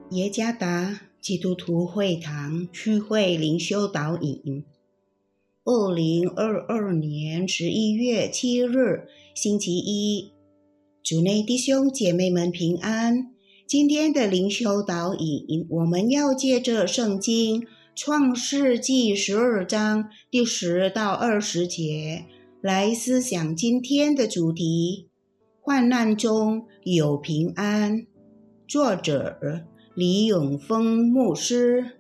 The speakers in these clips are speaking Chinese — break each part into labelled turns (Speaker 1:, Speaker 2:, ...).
Speaker 1: 耶加达基督徒会堂区会灵修导引2022年11月7日星期一，主内弟兄姐妹们平安。今天的灵修导引，我们要借着圣经创世纪12章第10到20节来思想今天的主题：患难中有平安。作者李永峰牧师。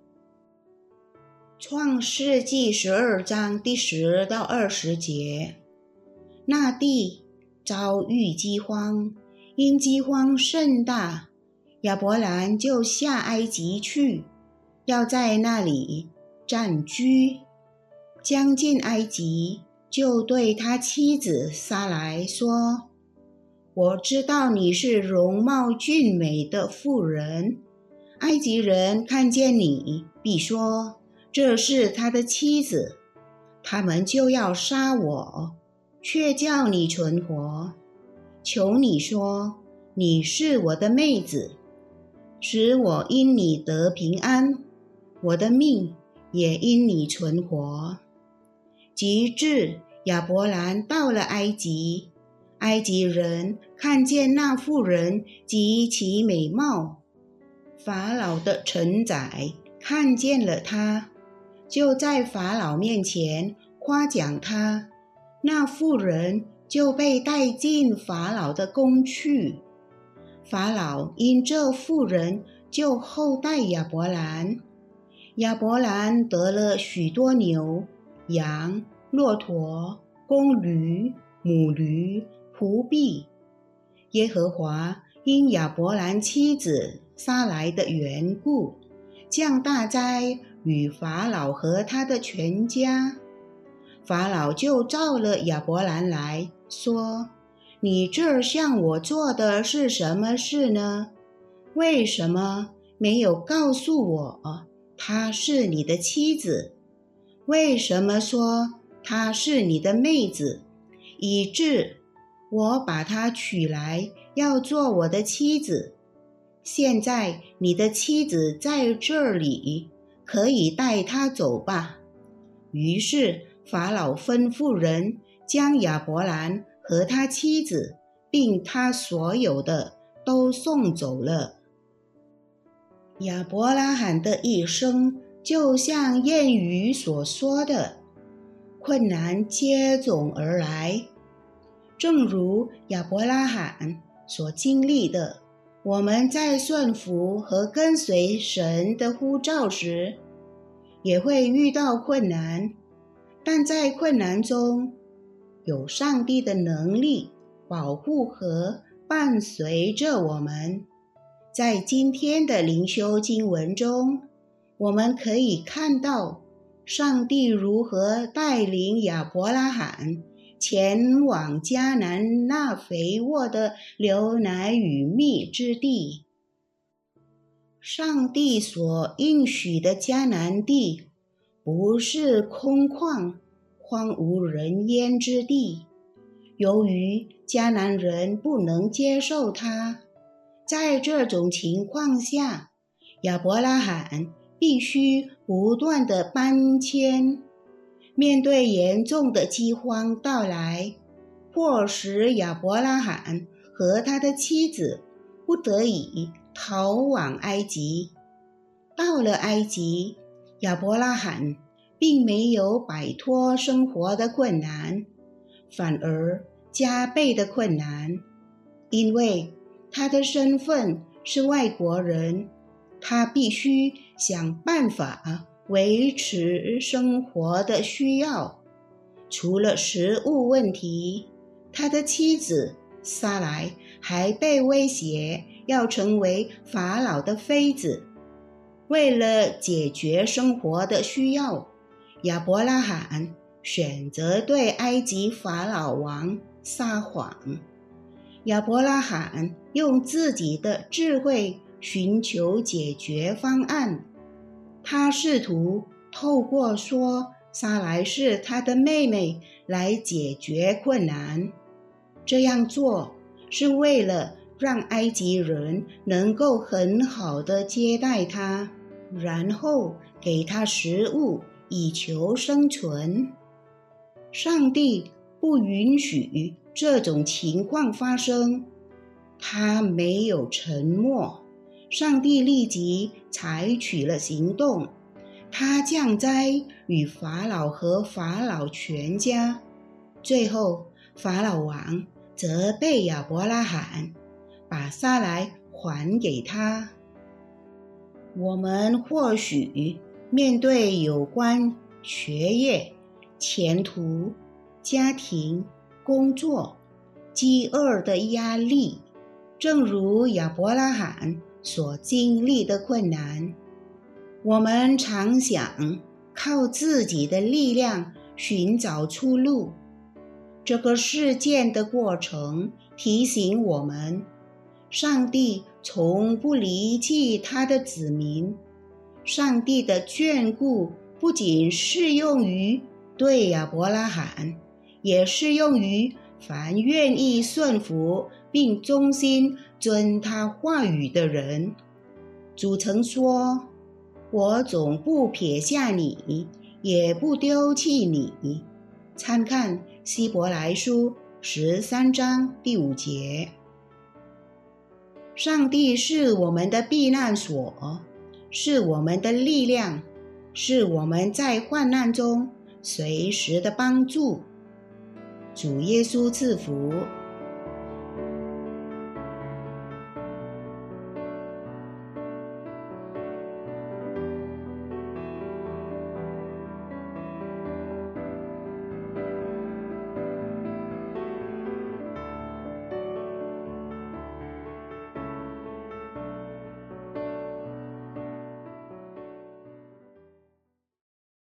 Speaker 1: 创世纪12章第10到20节，那地遭遇饥荒，因饥荒甚大，亚伯兰就下埃及去，要在那里暂居。将近埃及，就对他妻子撒来说：我知道你是容貌俊美的妇人，埃及人看见你，必说这是他的妻子，他们就要杀我，却叫你存活。求你说，你是我的妹子，使我因你得平安，我的命也因你存活。及至亚伯兰到了埃及，埃及人看见那妇人极其美貌，法老的臣宰看见了她，就在法老面前夸奖她，那妇人就被带进法老的宫去。法老因这妇人就厚待亚伯兰，亚伯兰得了许多牛、羊、骆驼、公驴、母驴、仆婢。耶和华因亚伯兰妻子撒来的缘故，降大灾与法老和他的全家。法老就召了亚伯兰来说：你这向我做的是什么事呢？为什么没有告诉我她是你的妻子？为什么说她是你的妹子，以致我把她娶来要做我的妻子？现在你的妻子在这里，可以带她走吧。于是法老吩咐人将亚伯兰和他妻子并他所有的都送走了。亚伯拉罕的一生就像谚语所说的，困难接踵而来。正如亚伯拉罕所经历的，我们在顺服和跟随神的呼召时，也会遇到困难，但在困难中，有上帝的能力保护和伴随着我们。在今天的灵修经文中，我们可以看到上帝如何带领亚伯拉罕前往迦南那肥沃的流奶与蜜之地。上帝所应许的迦南地不是空旷荒无人烟之地，由于迦南人不能接受它，在这种情况下，亚伯拉罕必须不断地搬迁。面对严重的饥荒到来，迫使亚伯拉罕和他的妻子不得已逃往埃及。到了埃及，亚伯拉罕并没有摆脱生活的困难，反而加倍的困难，因为他的身份是外国人，他必须想办法维持生活的需要。除了食物问题，他的妻子撒来还被威胁要成为法老的妃子。为了解决生活的需要，亚伯拉罕选择对埃及法老王撒谎。亚伯拉罕用自己的智慧寻求解决方案，他试图透过说撒来是他的妹妹来解决困难。这样做是为了让埃及人能够很好的接待他，然后给他食物以求生存。上帝不允许这种情况发生，他没有沉默，上帝立即采取了行动，他降灾与法老和法老全家。最后，法老王责备亚伯拉罕，把撒来还给他。我们或许面对有关学业、前途、家庭、工作、饥饿的压力，正如亚伯拉罕所经历的困难。我们常想靠自己的力量寻找出路。这个事件的过程提醒我们，上帝从不离弃他的子民。上帝的眷顾不仅适用于对亚伯拉罕，也适用于凡愿意顺服并忠心遵他话语的人。主曾说，我总不撇下你，也不丢弃你。参看希伯来书13章第5节。上帝是我们的避难所，是我们的力量，是我们在患难中随时的帮助。主耶稣赐福。